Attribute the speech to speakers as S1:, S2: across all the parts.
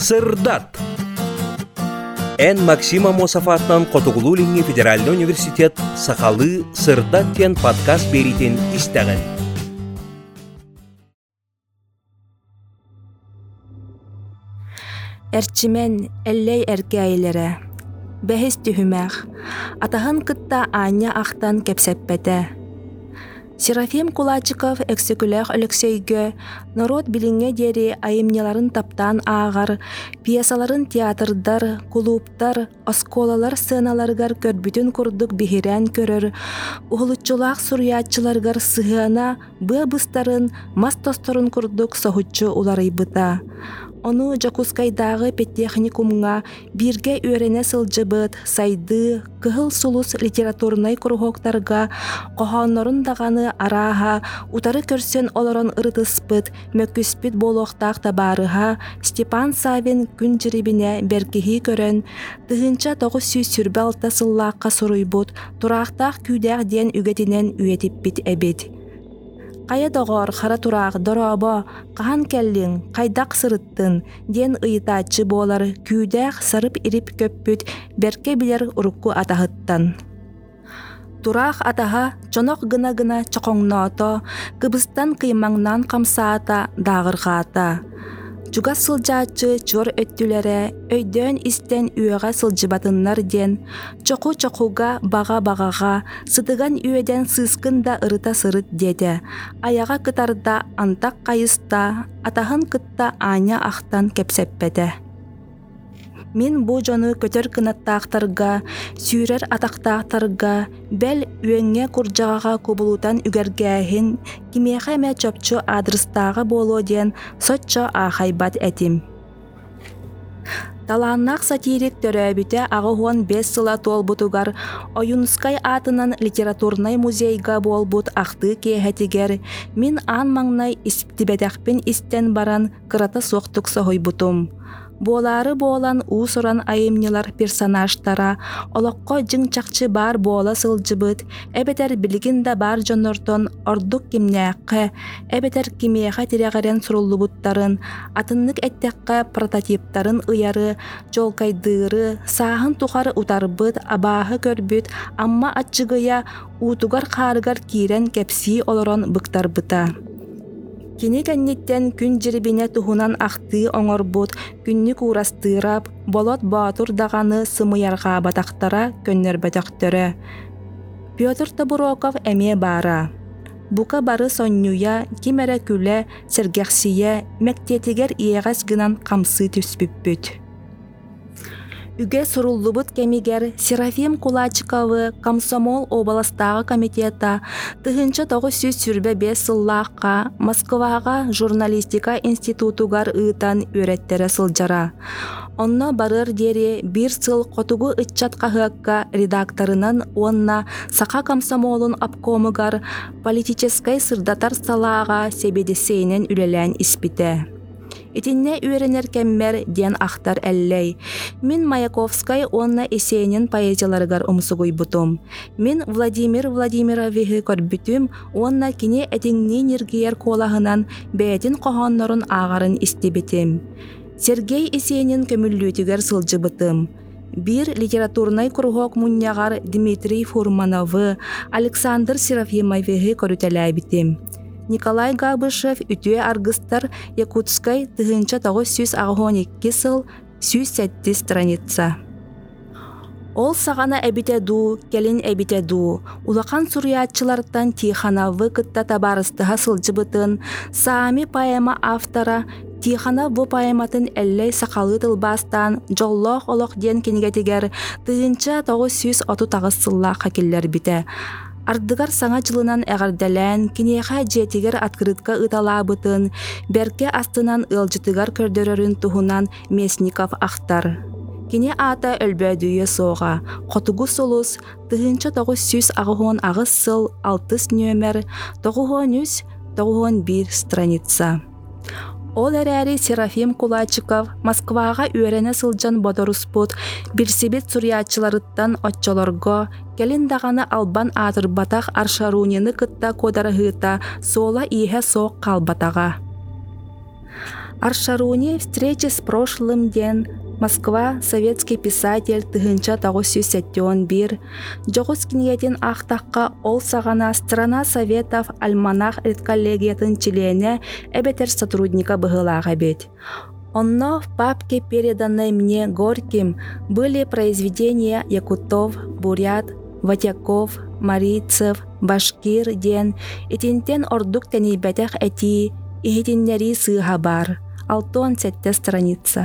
S1: Сырдат. Эн Максима Мосафатнан Котугулулинги Федеральный университет Сахалы Сырдат тен подкаст беритин истеген.
S2: Эрчимен эллей эркәйләре. Бәхис түһүмәх. Атаһын кытта Аня ахтан кепсеппете. Серафим Кулачиков эксекулях Алексейгө народ билиңе дери айымняларын таптан ағар, пьесаларын театрдар, клубтар, осколалар сценаларгар көрбүтүн курдук бихирен көрөр, ухулуччулах сурьячыларгар сыһыана быстарын, мастосторун курдук сохуччу уларыйбыта. Ону Жакускайдагы педтехникумга бирге үйрене сылжыбыт, сайды, кыһыл сулус литературнай курухоктарга, кохоннорун даганы араха, утары көрсөн олорон ырытыспыт, мөккүспүт болохтаах табарыха, Степан Савин күн жирибине беркиһи көрөн, тыһынча 900 сүрбе алта сыллаакка суруйбут, тураактаах күүдээх диэн үгетинен үетиппит эбит. Кая догор хара тураак доробо, кахан келлиң, кайдак сырыттын, ден ыйытаачы болар, күүдээх сарып ирип көппүт, берке билер урукку атаһыттан. Тураах атаха чонок гына-гына чоқоңноото, кыбыстан кыймаңнан камсаата, даагыргаата. Чуга сылжаачы чор өттүлere, өйдөн истен үйөҕө сылжыбатыннар ден, чоку-чокуга бага-багага, сытыган үйөден сыскын да ырыта сырыт деде. Аяга кытарда антак кайыста, атаһын кытта Аня ахтан кепсеппете. Мин бу жону көтөр кынаттаактарга, сүүрер атактаактарга, бел үөңҥэ курдьаҕаҕа кубулутан үгэргээһин, кимиэхэ эмэ чопчу адрыстааҕа буолуо диэн соччо аахайбат этим. Талааннаах сатирик төрөөбүтэ аҕыһуон 5 сыла туолбутугар Оюнскай атынан литературнай музейга буолбут ахтыы киэһэтигэр, мин аан маҥнай истибэтэхпин истэн баран кырата суохтук соһуйбутум. Болары болан уусуран айымнылар персонажтара, олоққо жыңчақчы бар бола сылжыбыт, эбетер билигин да бар жоннортон ордук кимнээққэ, эбетер кимиэхэ тирэгэрэн суруллубуттарын, атыннык эттеккэ прототиптарын ыяры, жолкайдыыры, сааһын тухары утарбыт, абааһы көрбүт, амма аччыгыя уутугар хаарыгар киирен кепсии олорон быктарбыта. Кини кэнниттен күн жирибине туһунан ахтыы оҥорбут, күннүк уурастыырап, болот баатур даганы сымыяргаа батахтара көннөрбөтөхтөрө. Петр Табуроков эмиэ баара. Бука бары соннуя, кимэрэ күлэ, сэргэхсие, мэктиэтигэр иэҕэс гынан хамсы түспүппүт. Үгэ суруллубут кемигер Серафим Кулачиковы Комсомол областагы комитета тыһынча 900 сүрбе 5 сыллаакка Москвага журналистика институтугар ыытан үөреттере сылжара. Онно барыр дери 1 сыл котугу ыччат каһыакка редакторынан уонна Саха Комсомолун обкомугар политическай сырдатар салаага себедесейнен үлелэн испите. Итинне үйренер кеммер диэн ахтар эллей. Мин Маяковскай онна эсенин поэзияларыгар умсугуйбутум. Мин Владимир Владимировичи көрбүтүм, онна кини этиңни ниргиер колаһынан бээтин кохоннорун аагарын истибитим. Сергей Есенин көмүллүүтүгер сылжыбытым. Бир литературнай курухок муннягар Дмитрий Фурмановы, Александр Серафимовичи көрүтэлээбитим. Николай Габышев үтүе аргыстар Якутскай тыһынча 912 сыл 107 страница. Ол сағана эбите ду, келин эбите ду. Улахан сурьячылардан Тихановы кытта табарыстыға сылжыбытын, Саами поэма автора Тиханов бу поэматын эллей сақалы тылбастан жоллоқ олоқ ден кенигетигер тыһынча 930 сыллааққа келлер бите. Ардыгар саңа жылынан әғардалән, кинеха жетигер открытка ыталабытын, берке астынан ылжытыгар көрдөрөрүн туһунан Местников ахтар. Кине ата өлбөдүйе соға, қотугу солус, тыһынча 900 сыл 6 нөмер, 991 страница. Ол әрәри Серафим Кулачиков Москваға үйрене сылжан бодоруспут, бирсибит сурьячыларыттан отчолорго, келин дағаны албан атырбатақ аршарунины кытта кодарыгыта сола иһэ соқ қалбатаға. Аршаруни «Встречи с прошлым» ден Москва, советский писатель тыгынча 1971, жоғыз киниетин ақтаққа ол сағана «Страна Советов» альманах редколлегиятын члене эбетер сотрудника быгылага бет. Онно в папке, переданной мне Горьким, были произведения Якутов, Бурят, Ватяков, Марийцев, Башкир ден, итинтен ордук тенибетех эти, ихитиннери сыга бар. 6-7 страница.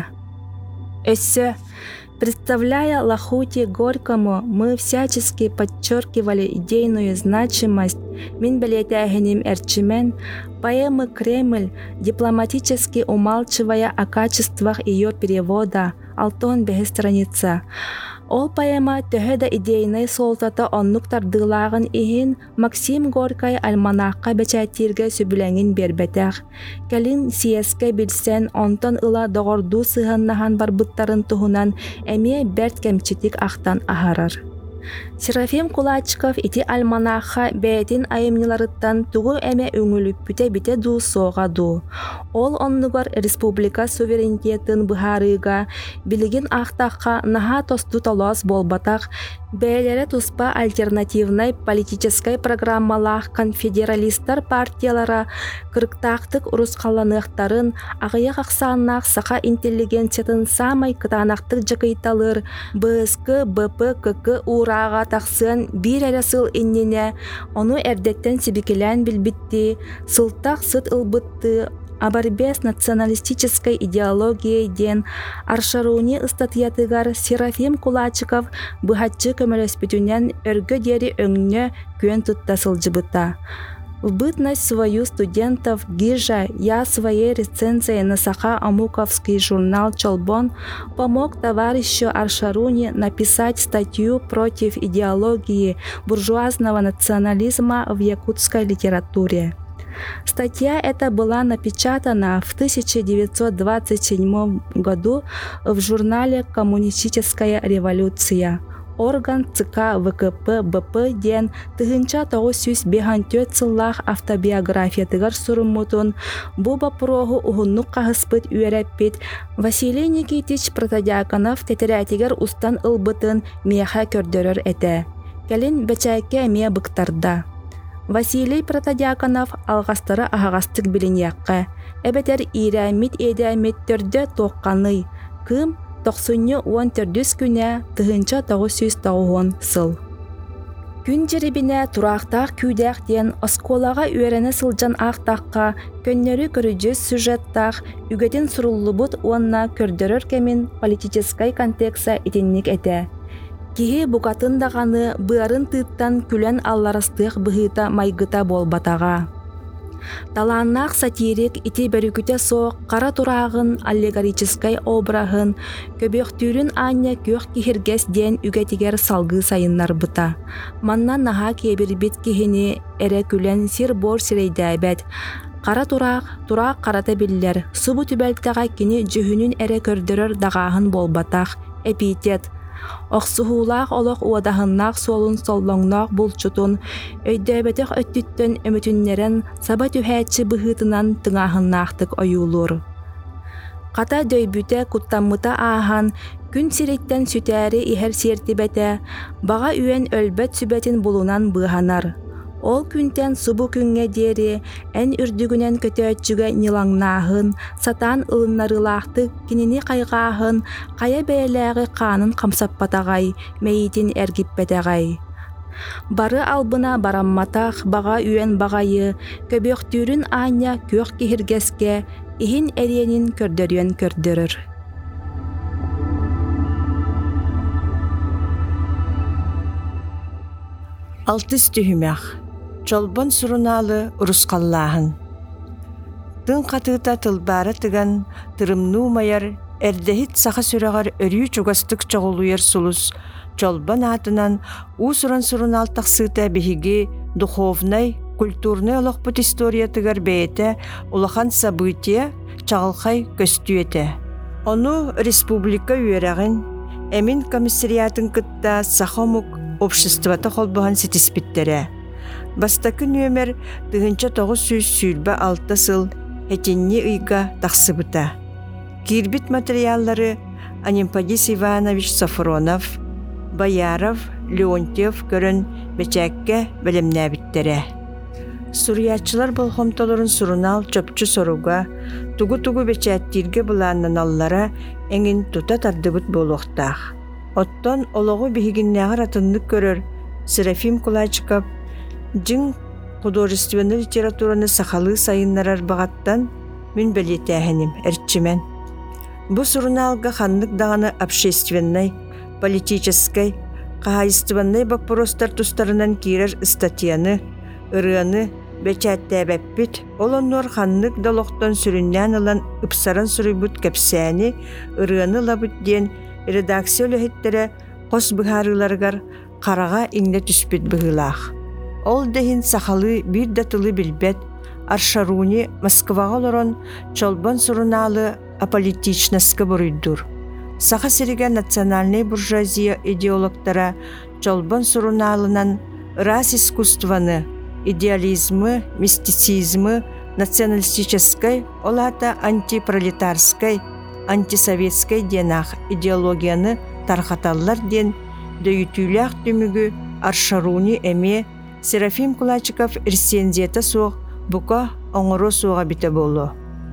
S2: Эссе. Представляя Лахути Горькому, мы всячески подчеркивали идейную значимость Минбелетягеним Эрчимен поэмы «Кремль», дипломатически умалчивая о качествах ее перевода. 6 страница. Ол поэма төһөдө идейный солтата оннук тардылагын ихин Максим Горький альманахка бечатирге сүбүлеңин бербетех. Келин сиеске билсен онтон ыла догорду сыһаннахан барбыттарын туһунан эми берт кемчитик ахтан ахарар. Серафим Кулачиков ити альманахха бээтин айымныларыттан тугу эме өңүлүппүтэ бите дуу соога дуу. Ол оннугар республика суверенитетін быһарыга билигин ахтахха наха тосту толос болбатах, бээлере туспа альтернативной политической программалах конфедералисттар партиялара кырыктаактык урускалланыктарын агыяк аксааннаах саха интеллигенциятын самай кытаанактык жакыйталыр БСК, БПКК урага таксын бир эре сыл иннине, ону эрдеттен сибикелен билбитти, сылтак сыт ылбытты, о борьбе с националистической идеологией ден Аршаруни статьятыгар Серафим Кулачиков быхатчы көмөлөспүтүнен өргө дери өңнө көн туттасылжыбыта. В бытность свою студентов ГИЖа я своей рецензией на Саха-Амуковский журнал «Чолбон» помог товарищу Аршаруни написать статью против идеологии буржуазного национализма в якутской литературе. Статья эта была напечатана в 1927 году в журнале «Коммунистическая революция». Орган ЦК ВКП БП ден тыгынча 954 сыллах автобиографиятыгар суруммутун бу бапрогу угуннук каһыспыт үөреппит Василий Никитич Протодиаконов тетерятигер устан ылбытын меха көрдөрөр эте. Келин бечайке мие быктарда. Василий Протодиаконов алгастары ахагастык билиньякка. Эбетер ирэмит эдэмит төрдө тоққаны. Кым 94 күнә тыгынча 990 сыл. Күн жеребине турактак күйдәк ден осколага үөрәне сылжан ақтаққа көннөрү көрүжү сюжеттах үгетин суруллубут уонна көрдөрөр кемин политическай контекста итинник эте. Киһи букатын даганы быарын тыттан күлен алларастык быһыта майгыта болбатага. Таланнақ сатирик ити бөрүкүтэ соқ қара турағын аллегорическай обрахын көбөктүүрүн аня көх кихиргес ден үгетигер салгы сайыннар быта. Манна наха кебирбит кихини эре күлен сир бор сирейдәбет. Қара турақ қарата биллер. Субу түбәлтәға кини жүхүнүн эре көрдөрөр дағаһын болбатах. Эпитет. Оксуһуулаах олох уадахыннаах суолун соллоңноох булчутун, өйдөбетех өттүттөн өмүтүннерен саба түһээччи быһыытынан тыҥааһыннаахтык ойуулур. Ката дөйбүтэ куттаммыта аахан, күн сириттен сүтээри иһэр сиэртибэтэ, бага үөн өлбөт сүбэтин булунан быһанар. Ол күнтен субу күнгө диэри эн үрдүгүнен көтөөччүгө нилаңнаахын, сатаан ылыннарылаахтык кинини кайгааһын, кая бээлээги хаанын камсаппатагай, мэйитин эргиппетегай. Бары албына барамматах бага үөн багайы, көбөктүүрүн аня көх кихиргеске, иһин эриэнин көрдөрүөн көрдөрөр.
S3: Алтыс түһүмэх. Чолбон суруналы урускаллаахын. Тын қатыта тылбары тыган тырымнуу майар эрдехит саха сүрөгөр өрүү чугастык чоголуер сулус чолбон атынан у сурун алтаксыта биһиги духовный, культурный олохпут история тыгар бейте улахан события чагалхай көстүете. Ону республика үерагын эмин комиссариатын кытта Сахамук обществото холбохан сетиспиттере. Бастакы нөмер тыгынча 900 сүйілбі 6 сыл хетинни ыйга тахсыбыта. Кирбит материаллары Анимпадис Иванович Сафронов, Бояров, Леонтьев көрін бечәкке білімнәбіттере. Сурьячылар болхомтоларын сурунал чөпчү соруга, тугу-тугу бечәттирге буланнан аллара эңин тута тардыбыт болуқтақ. Оттон олоғу бігігіннәғыр атынлык көрір Серафим Кулачиков жың художественный литератураны сахалы сайыннарар бағаттан мен білетәхінім, әртчімен. Бу суруналга ханнык дағаны общественной, политической, қағайыстыванной вопростар тустарынан кирер статьяны, ырыаны, бәчәттәбәппіт, олоннор ханнык долоқтан сүріннән алан ыпсаран сүрібіт кәпсәні, ырыаны лабыт ден редакция өліхеттері қос бұхарыларғар қараға иңне түспет бұғылақ. Ол дәхін сақалы бір датылы білбет, Аршаруни Москваға олорон чолбон суруналы аполитичнаска бұруйдур. Саха сереге национальный буржуазия идеологтара чолбон суруналынан рас искусстваны, идеализмы, мистицизмы, националистической, олата антипролетарской, антисоветской денах идеологияны тархаталлар ден дөйтүлях дүмігі Аршаруни эме Серафим Кулачиков рецензията соқ бұқа оңыру соға біті болу.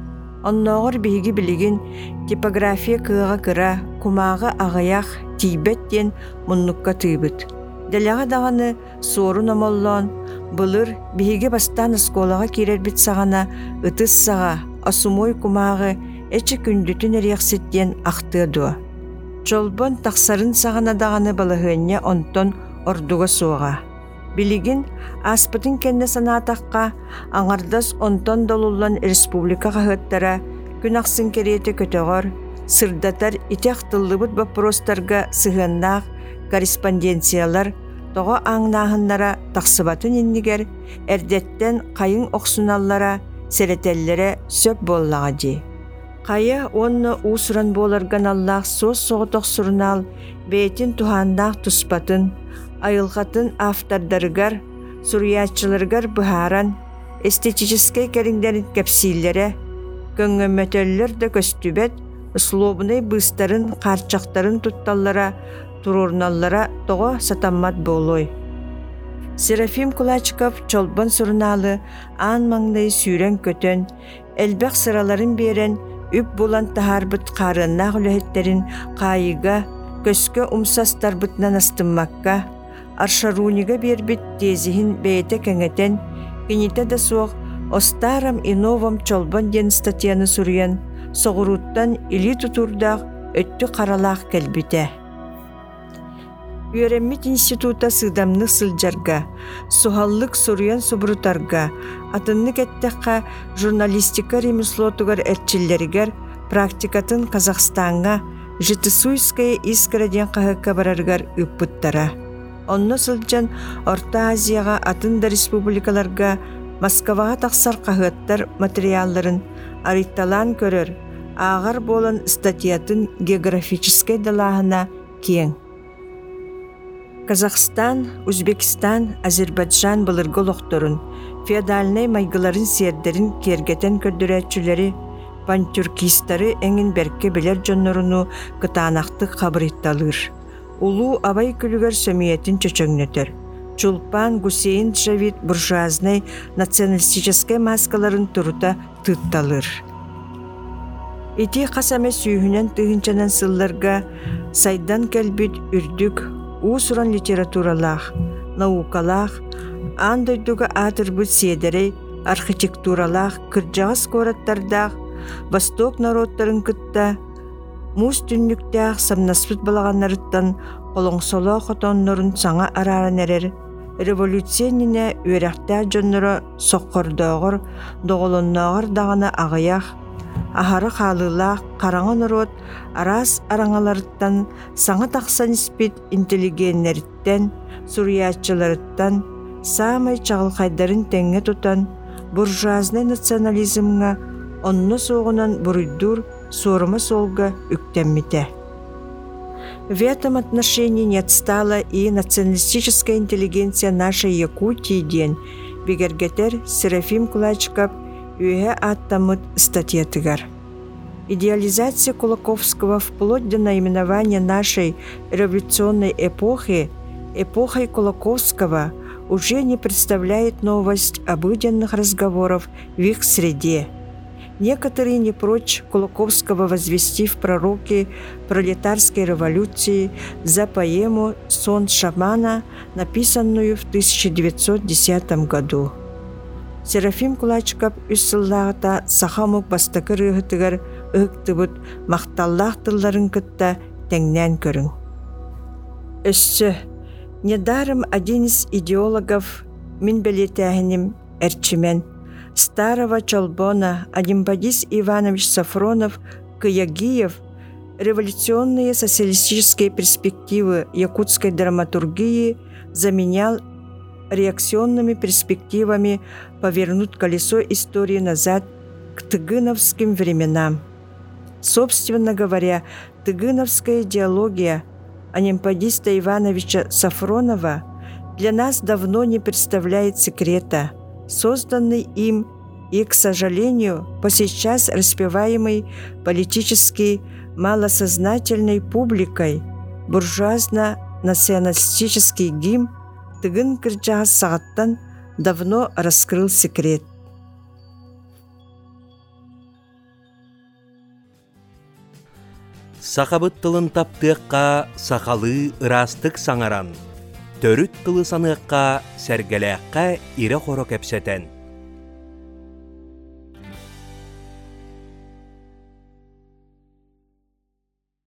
S3: Онноғыр бігі білігін типография кыға кыра, кумаға ағаяқ тейбеттен мұнныққа тыйбыт. Дәліға дағаны сорын омоллон, бұлыр бігі бастан сколаға керер біт сағана ұтыс саға, асумой кумағы әчі күндітін әрексеттен ақтыды. Чолбон тақсарын сағана дағаны балығыне онтон ордуға соға. Билигин аспытын кенне санатаққа аңардас онтон долулан республика қағыттара күн ақсын кереті көтіғыр, сырдатар итек тыллыбыт вопростарға сығыннақ корреспонденциялар тоға аңнағынлара тақсыбатын иннигер әрдеттен қайын оқсуналлара сәретеллері сөп боллаға де. Қайы онны усыран боларған Аллах соз соғытық сұрынал бейтін тухандақ тұспатын айылғатын автордарыгар, сурьячыларыгар бұхаран, эстетический кәріңдерін кәпсейлері, көңгөмөтөллер да көстүбет, условный быстарын, қарчақтарын тутталлара, турурналлара тоға сатаммат болой. Серафим Кулачиков чолбан сурналы ан маңдай сүйрен көтөн, әлбәқ сыраларын берен, үп болан тахарбыт қарыннақ үліхеттерін қайыға, көскө умсастарбытнан астыммакка, Аршарунига бербит тезихин бейте кәңетен, кенете да соқ, остарам и новом чолбан ден статьяны сурьян, соғыруттан или тутурдақ өтті қаралақ кәлбіте. Үйереммит института сыдамны сылжарға, сухаллык сурьян собрутарға, атынны кәттәққа журналистика ремеслотугар әрчиллерігер, практикатын Казахстанға, Житысуйская искраден қағыққа барарғар үппіттара. Онны сылжан Орта Азияға атында республикаларға Москваға тақсар қағыттар материалларын арытталан көрір, ағар болын статьятын географическай далағына кең. Казахстан, Өзбекстан, Азербайджан бұлырғы лоқторын, феодальнай майгыларын сердерін кергетен көрдірәтчілері, пантюркистары әңін бәрке білер жонларыну кытанақты қабырытталыр. Улу абай күлігер сөмиетін чөчөңнетер. Чулпан, Гусейн, Джавид буржуазный националистическай маскаларын тұрута тұтталыр. Ити қасаме сүйінен тұхынчанан сылларға сайдан кәлбіт үрдік, усуран литературалақ, наукалақ, андойдуға атырбыт седерей, архитектуралақ, кырджағыз кораттардақ, Восток народтарын кытта, мус түннүктәк самнаспыт балағаннарыттан қолоңсоло хотоннорун саңа араран әрер, революцияніне үйрәқті жоннора соққордоғыр, доғылыннағыр дағына ағаяқ, ахары қалылақ, қараңы народ арас араңаларыттан саңа тақсан іспет интеллигеннеріттен, сурьячыларыттан, самай чағылқайдарын тәңе тұтан, буржуазный национализмға онны соғынан бұруйдур сорыма солга үктәммите. В этом отношении не отстала и националистическая интеллигенция нашей Якутии ден, бигергетер Серафим Кулачиков үөһэ ааттаммыт статьятыгар. Идеализация Кулаковского вплоть до наименования нашей революционной эпохи, эпохой Кулаковского, уже не представляет новость обыденных разговоров в их среде. Некоторые не прочь Кулаковского возвести в пророки пролетарской революции за поэму «Сон шамана», написанную в 1910 году. Серафим Кулачкап үссыллағыта сахамук бастакы рыгытыгар ыгтыбыт мақталлах тылларын кытта теңнен көрүң. Өссө, недаром один из идеологов Минбелетяхиним Эрчимен, Старого Чолбона Адимбадис Иванович Сафронов Кыягиев революционные социалистические перспективы якутской драматургии заменял реакционными перспективами повернуть колесо истории назад к тыгыновским временам. Собственно говоря, тыгыновская идеология Анимпадиста Ивановича Сафронова для нас давно не представляет секрета, созданный им и, к сожалению, по сейчас распеваемый политически малосознательной публикой буржуазно-националистический гимн тыгын кырдьаҕа саҕаттан давно раскрыл секрет.
S1: Сахабыт тылын таптыакка сахалы ырастык саңаран, төрүт тылы саныакка сәргелэакка ире хоро кепсетен.